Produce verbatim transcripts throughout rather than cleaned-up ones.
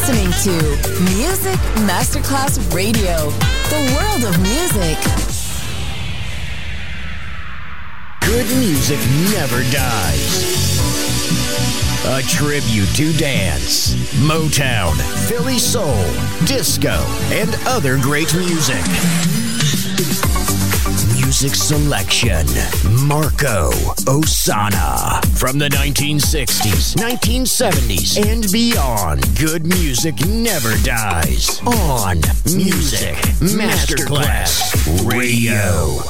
listening to Music Masterclass Radio, the world of music. Good music never dies. A tribute to dance, Motown, Philly soul, disco, and other great music. Music selection, Marco Ossanna. From the nineteen sixties, nineteen seventies, and beyond, good music never dies. On Music Masterclass Radio.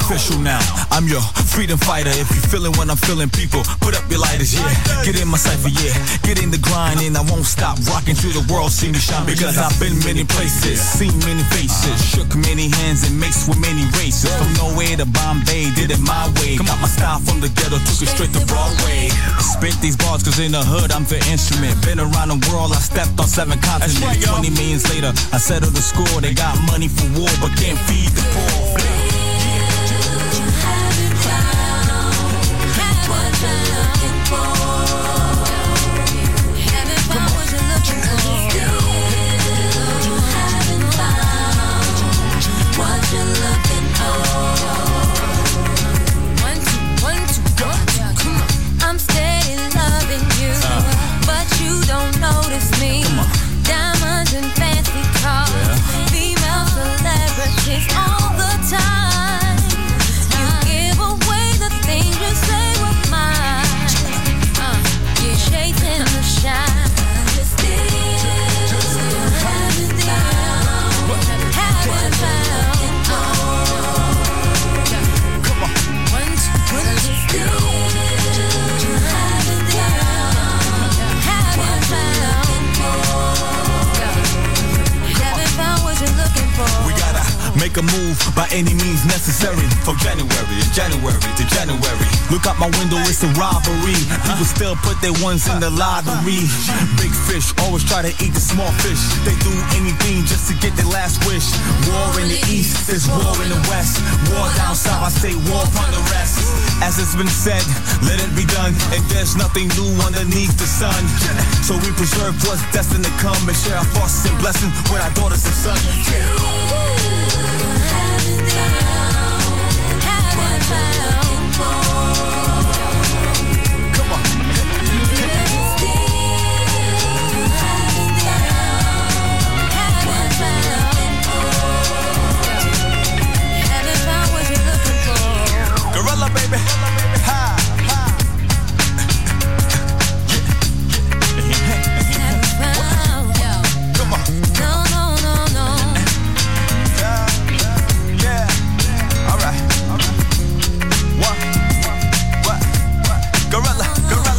official now. I'm your freedom fighter. If you feeling what I'm feeling, people, put up your lighters, yeah. Get in my cipher, yeah. Get in the grind and I won't stop rocking till the world see me shine. Because I've been many places, seen many faces, shook many hands and mixed with many races. From nowhere to Bombay, did it my way. Got my style from the ghetto, took it straight to Broadway. Spit these bars cause in the hood I'm the instrument. Been around the world, I stepped on seven continents. Twenty millions later, I settled the score. They got money for war but can't feed the poor. All the time, you give away the things you say were mine. Uh, you're chasing the shine. You still haven't found, haven't found. Come on, one, two, one, two, still haven't found, haven't found, haven't found what you're looking for. We gotta make a move by any means necessary. From January to January to January. Look out my window, it's a robbery. People still put their ones in the lottery. Big fish always try to eat the small fish. They do anything just to get their last wish. War in the east, there's war in the west. War down south, I say war upon the rest. As it's been said, let it be done. And there's nothing new underneath the sun. So we preserve what's destined to come and share our thoughts and blessings with our daughters and sons. Gorilla, baby. Ha, ha. Come on. No, no, no, no. Yeah, yeah. All right, all right. What, what, what? Gorilla, gorilla.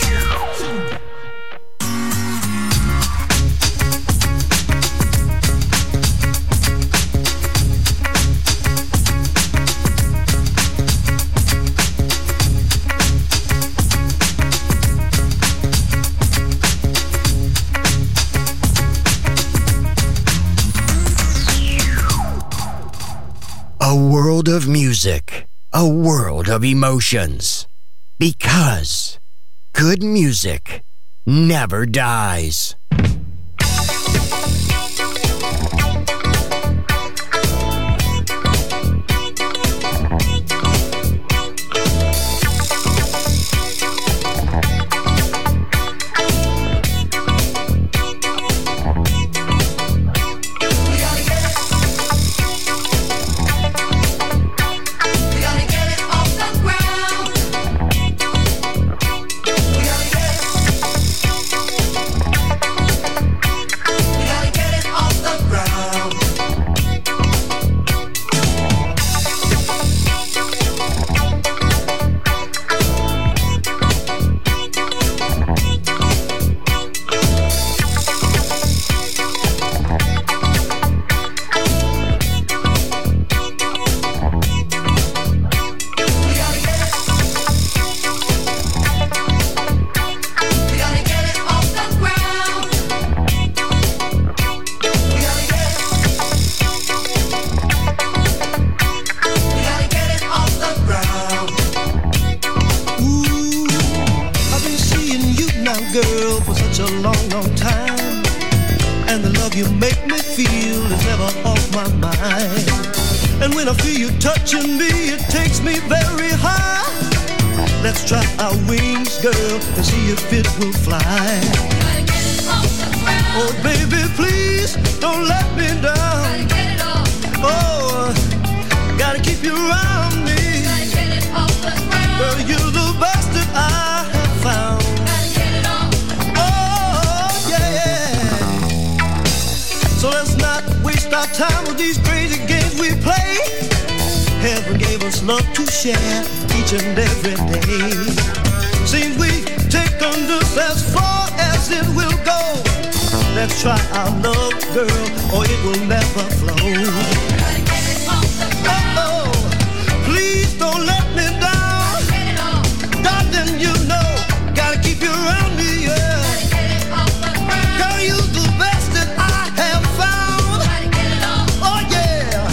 A world of music, a world of emotions. Because good music never dies. And when I feel you touching me, it takes me very high. Let's try our wings, girl, and see if it will fly. Gotta get it off the ground. Oh, baby, please don't let me down. Gotta get it off. Oh, gotta keep you around me. Gotta get it off the ground. Girl, you're the best that I have found. Gotta get it off. Oh, yeah. So let's not waste our time with these crazy games we play. Heaven gave us love to share each and every day. Seems we taken this as far as it will go. Let's try our love, girl, or it will never flow. Oh, please don't let me down. Darling, you know, gotta keep you around me, yeah. Girl, you're the best that I have found. Oh, yeah.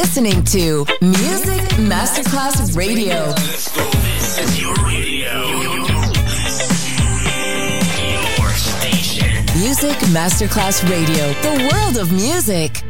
listening to Music Masterclass Radio. Let's go. This is your radio. Your station. Music Masterclass Radio. The world of music.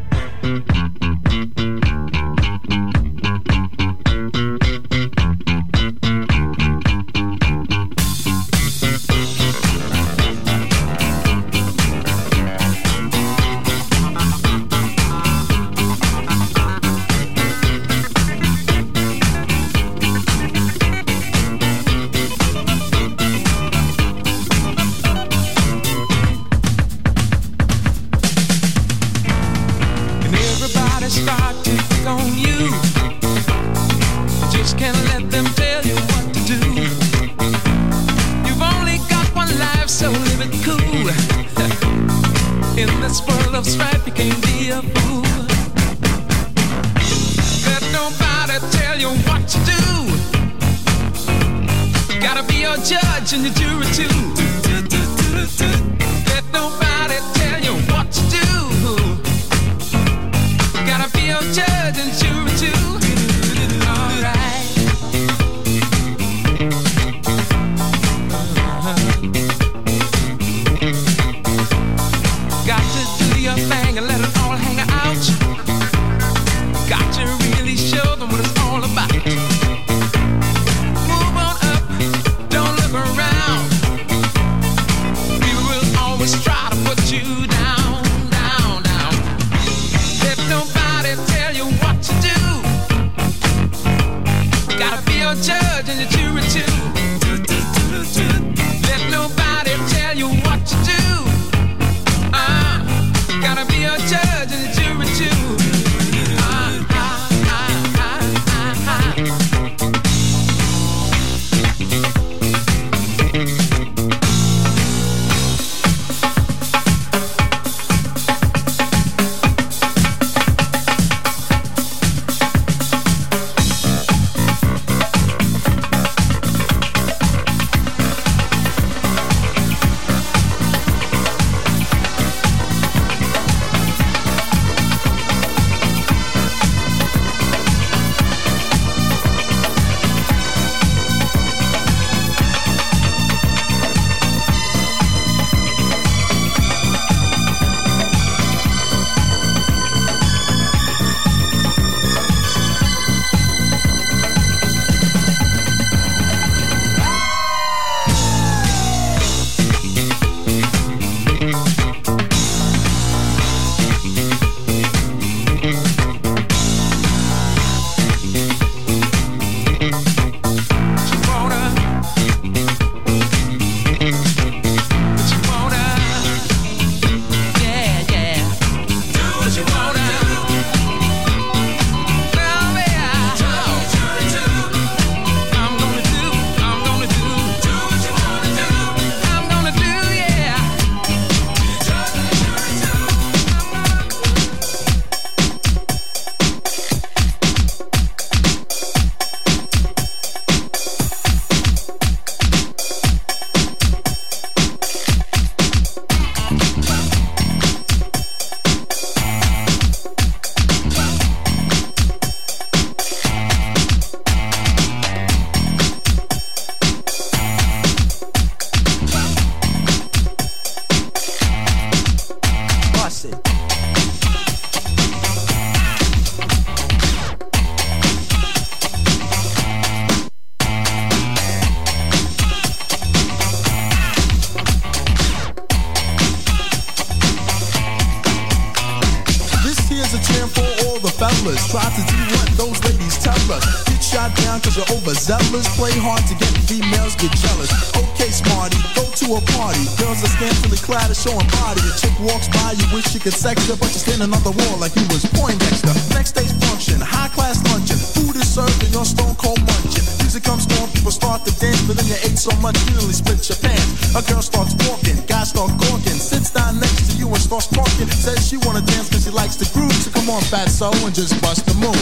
fellas. Try to do what those ladies tell us. Get shot down cause you're overzealous. Play hard to get females, get jealous. Okay, smarty, go to a party. Girls are scantily clad and showing body. A chick walks by, you wish you could sex her, but you're standing on the wall like you was Poindexter. Next day's function, high class luncheon. Food is served and you're stone cold munching. Music comes on, people start to dance, but then you ate so much you nearly split your pants. A girl starts walking, guys start gawking, sits down next to you and starts talking. Says she wanna dance cause she likes the groove. So come on, fatso, and just bust the move.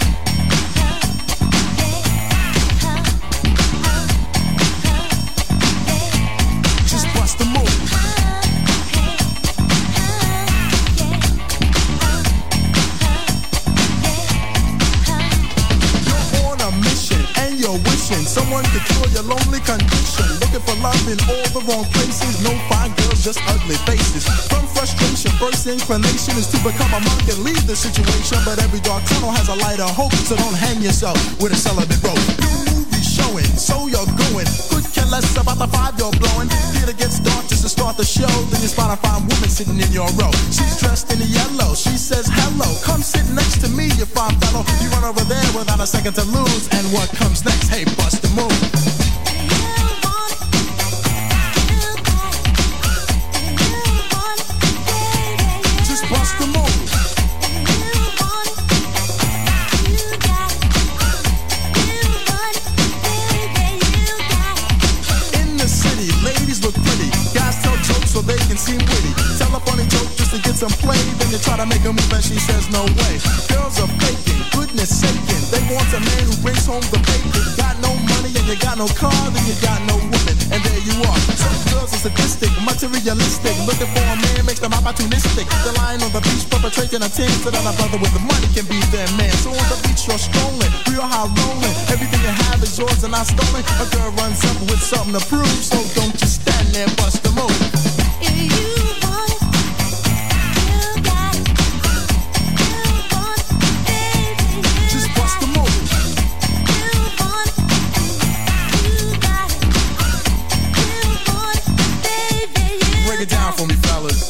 Just bust the move. solution. Someone to cure your lonely condition. Looking for love in all the wrong places. No fine girls, just ugly faces. From frustration, first inclination is to become a monk and leave the situation. But every dark tunnel has a light of hope, so don't hang yourself with a celibate rope. New movie showing, so you're going. Could care less about the five you're blowing. Theater gets dark just to start the show. Then you spot a fine woman sitting in your row. She's dressed in yellow. She says hello. Come sit next to me, you fine fellow. You run over there without a second to lose. And what comes next? Hey, bust the move. Just bust the move. In the city, ladies look pretty. Guys tell jokes so they can seem witty. Tell a funny joke just to get some play. Then you try to make a move and she says no way. Girls are faking, goodness saking. They want a man who brings home the bacon. Got no money and you got no car, then you got no woman. And there you are. Some girls are sadistic, materialistic. Looking for a man makes them opportunistic. They're lying on the beach perpetrating a tin so that a brother with the money can be their man. So on the beach you're strolling, real high rolling. Everything you have is yours and not stolen. A girl runs up with something to prove. So don't just stand there, bust the move. If you want it, you got it. You want it, baby, you Just bust the move. You want it, you got it. You want it, baby, you Break it down for me, fellas.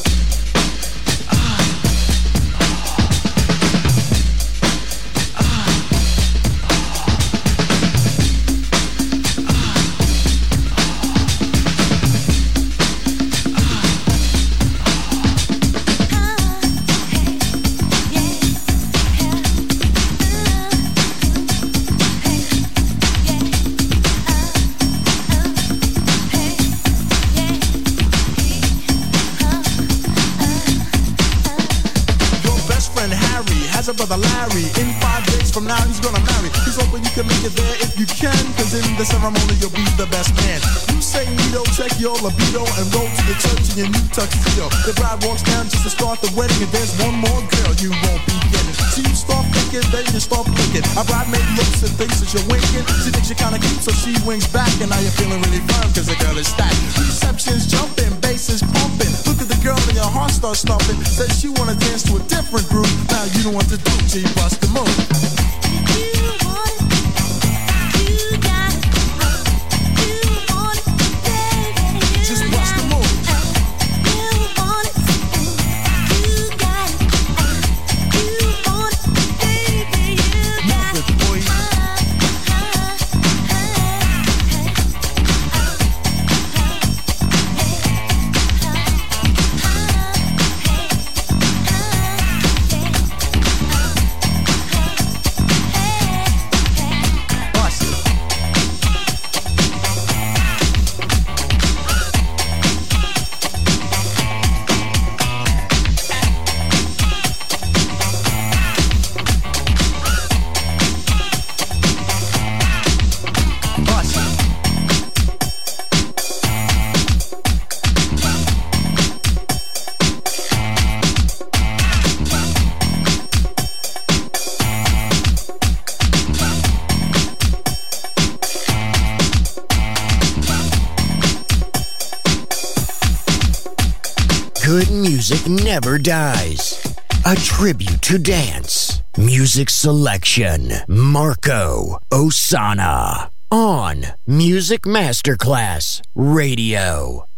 Has a brother Larry. In five days from now he's gonna marry. He's hoping you can make it there if you can, cause in the ceremony you'll be the best man. You say Nito, check your libido and roll to the church in your new tuxedo. The bride walks down just to start the wedding, and there's one more girl you won't be getting. So you start thinking, then you start thinking. A bridemaid looks and thinks that you're winking. She thinks you're kinda cute, so she winks back, and now you're feeling really firm cause the girl is stacked. Reception's jumping, bass is pumping. Look at the girl and your heart starts stomping. Says she wanna dance to a different group. Now you don't want to do till you bust the move. You want it, you got it. You want it, baby, you Just got bust the it. move. You want it, you got it. You want it, baby, you got Move it, boy. Good music never dies. A tribute to dance. Music selection. Marco Ossanna. On Music Masterclass Radio.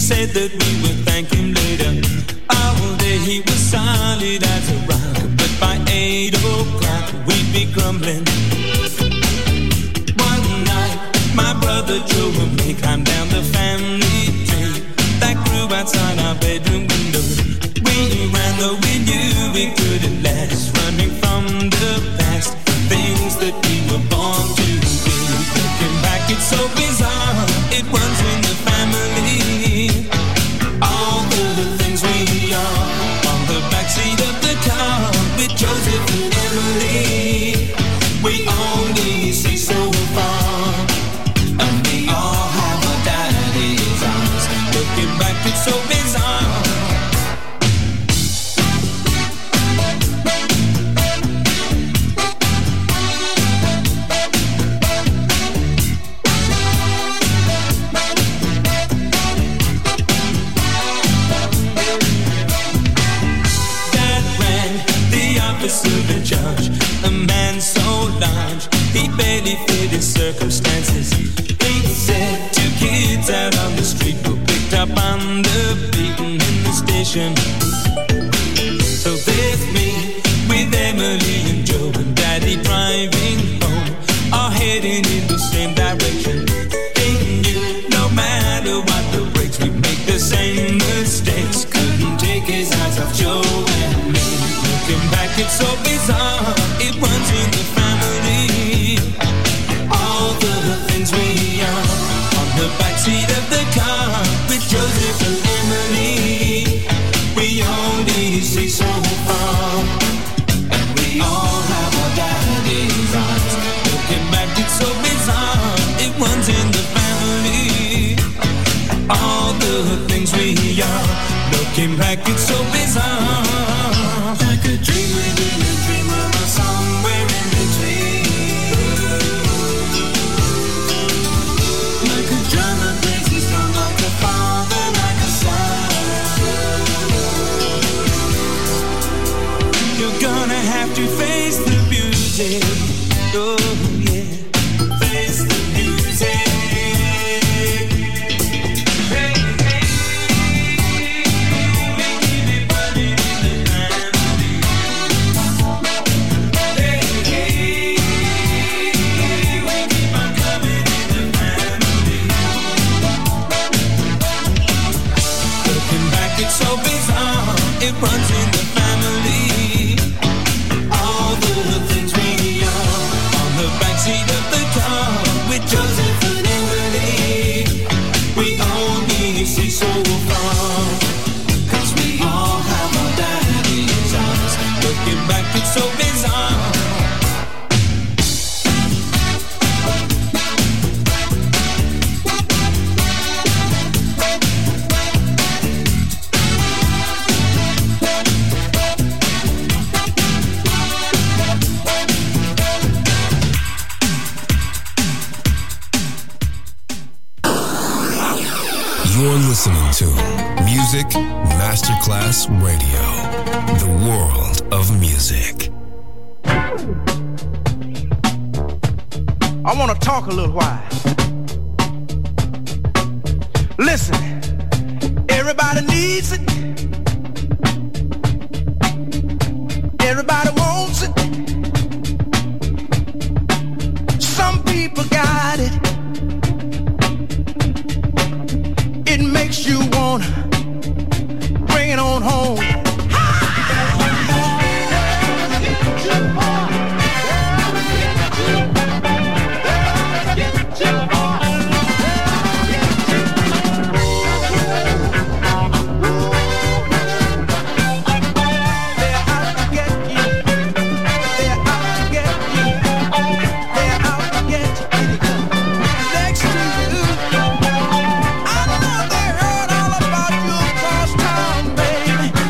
said that we would thank him later. All day he was solid as a rock, but by eight o'clock we'd be grumbling. One night my brother Joe and me climbed down the family tree that grew outside our bedroom window. We ran though we knew we couldn't last, running from the past, things that we were born to be. Looking back, it's so bizarre, it runs in the family. All the things we are on the backseat of the car with Joseph and Emily. We only see so far, and we all have a daddy's arms. Looking back, it's so bizarre. Of the judge, a man so large he barely fit his circumstances. He said two kids out on the street were picked up on the beat in the station. So there's me with Emily and Joe and Daddy driving home, all heading in the same direction. He knew no matter what the brakes, we'd make the same mistakes. Couldn't take his eyes off Joe and me. Looking back, it's so bizarre, it runs in the family. All the things we are on the backseat of the car with Joseph and Emily. We only see so far, and we all have our daddy's eyes. Looking back, it's so bizarre, it runs in the family. All the things we are, looking back, it's so bizarre. Like a dream within a dream of a somewhere in between. Like a drum that plays his song, like a father, like a son. You're gonna have to face the music. Oh yeah, face the music. So bizarre, it runs in the family. All the things we are on the backseat of the car with Joseph and Emily. We only see so far, cause we all have our daddy's eyes. Looking back, it's so bizarre. You're listening to Music Masterclass Radio, the world of music. I want to talk a little while. Listen, everybody needs it. Everybody wants it. Some people got it. It makes you wanna bring it on home. Next to you, I know they heard all about you across town, baby.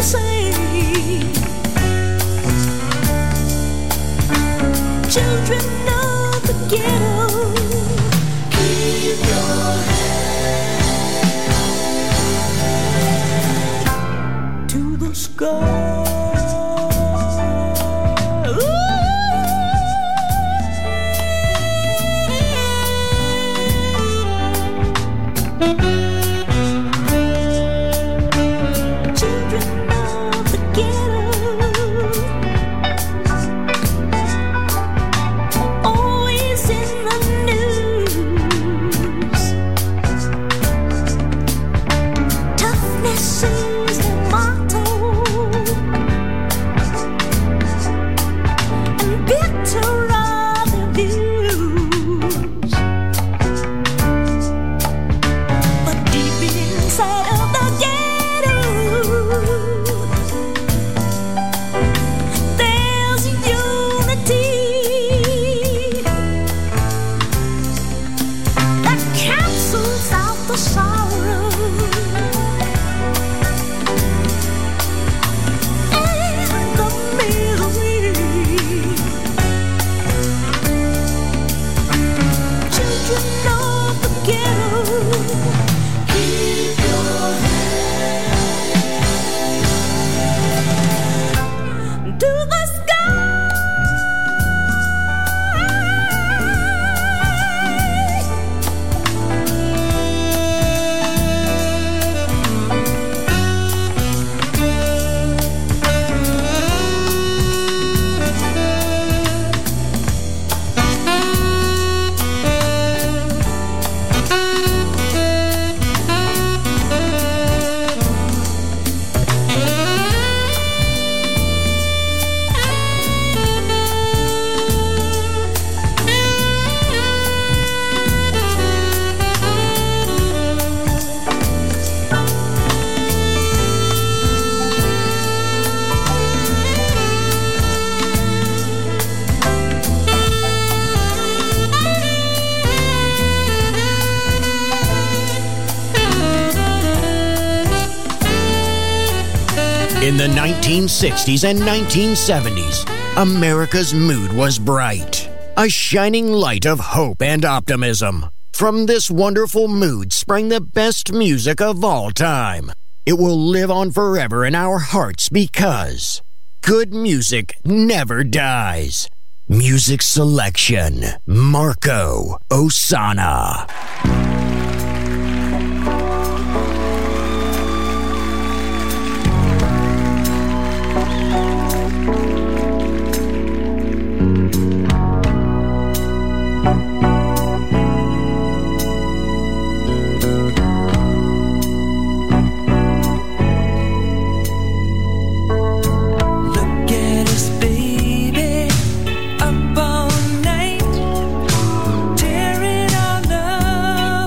same. Children of the ghetto, keep your head to the sky. In the nineteen sixties and nineteen seventies, America's mood was bright, a shining light of hope and optimism. From this wonderful mood sprang the best music of all time. It will live on forever in our hearts because good music never dies. Music selection, Marco Ossanna. Up all night, tearing our love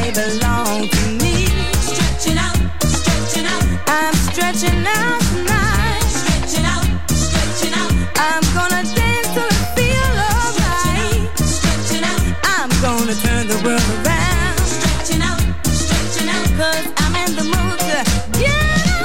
they belong to me. Stretching out, stretching out. I'm stretching out tonight. Stretching out, stretching out. I'm gonna dance till I feel alright. Stretching out, I'm gonna turn the world around. Stretching out, stretching out. 'Cause I'm in the mood to get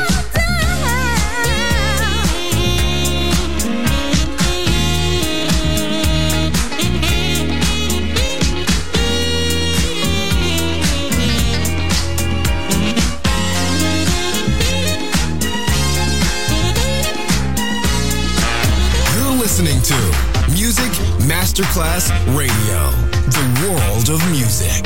listening to Music Masterclass Radio, the world of music.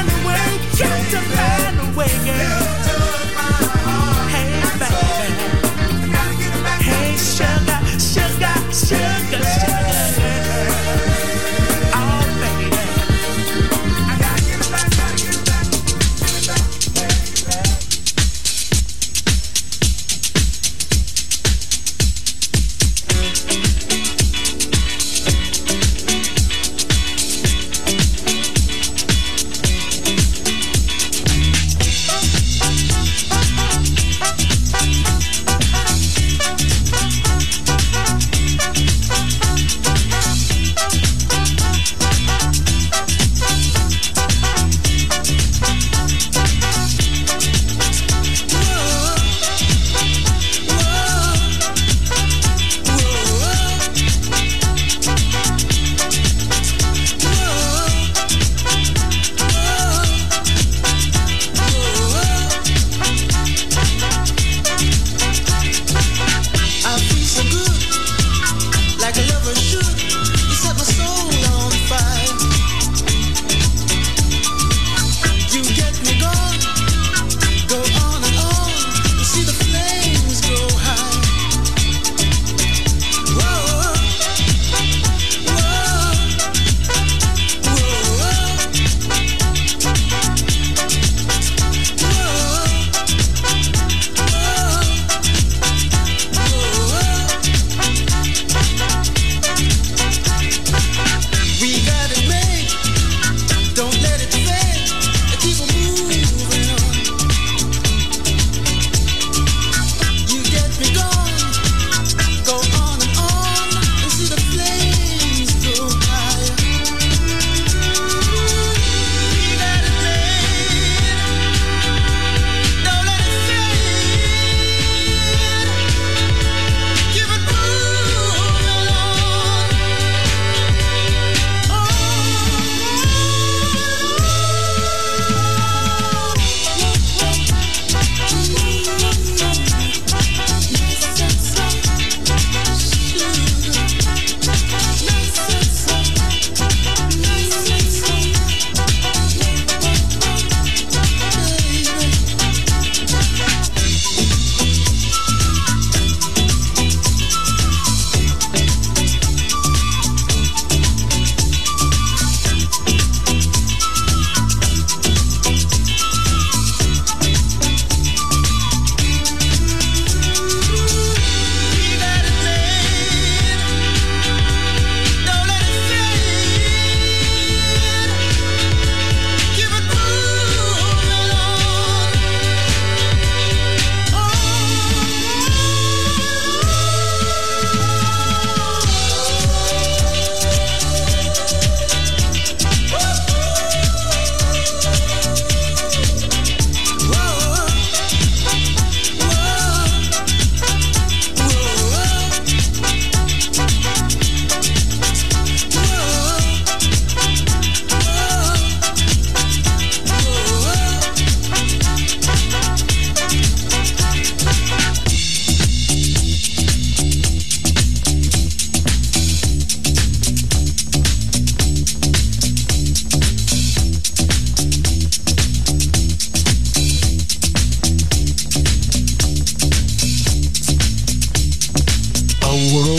Hey, baby.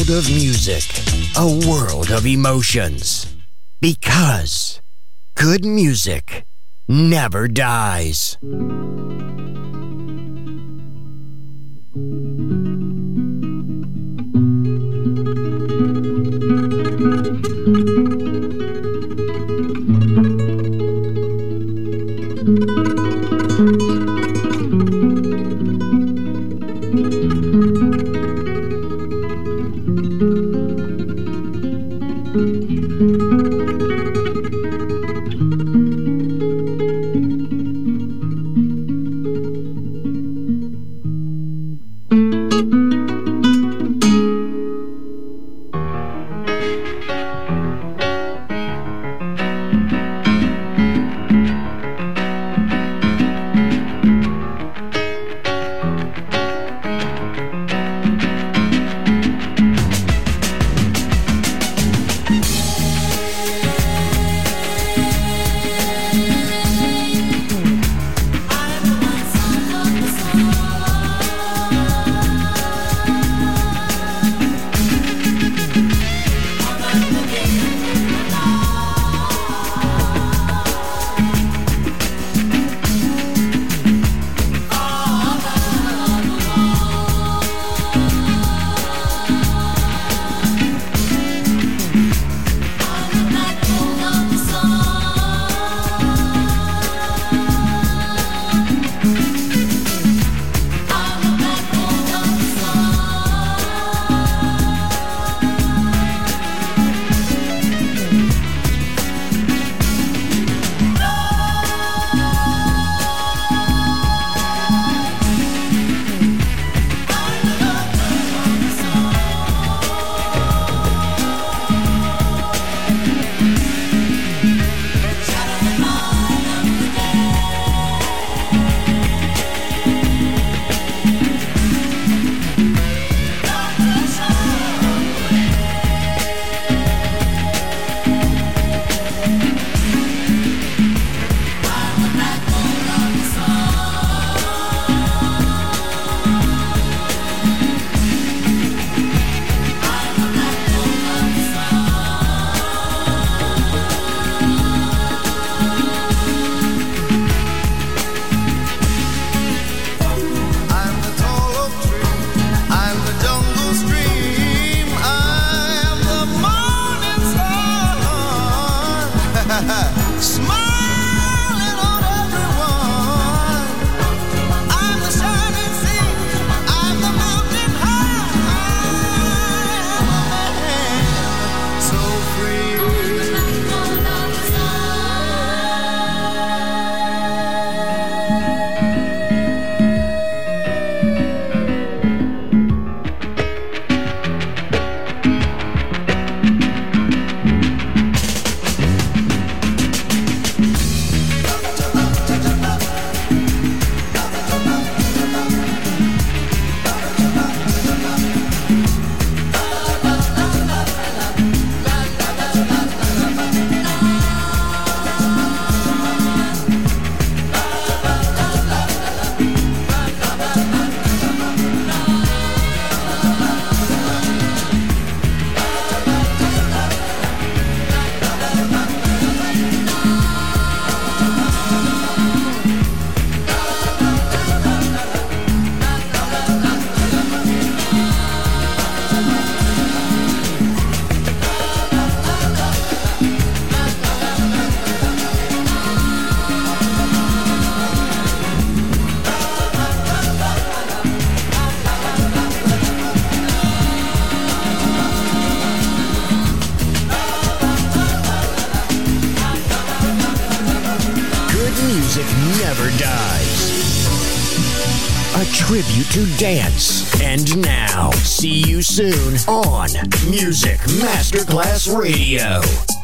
world of music, a world of emotions. Because good music never dies. Never dies. A tribute to dance. And now, see you soon on Music Masterclass Radio.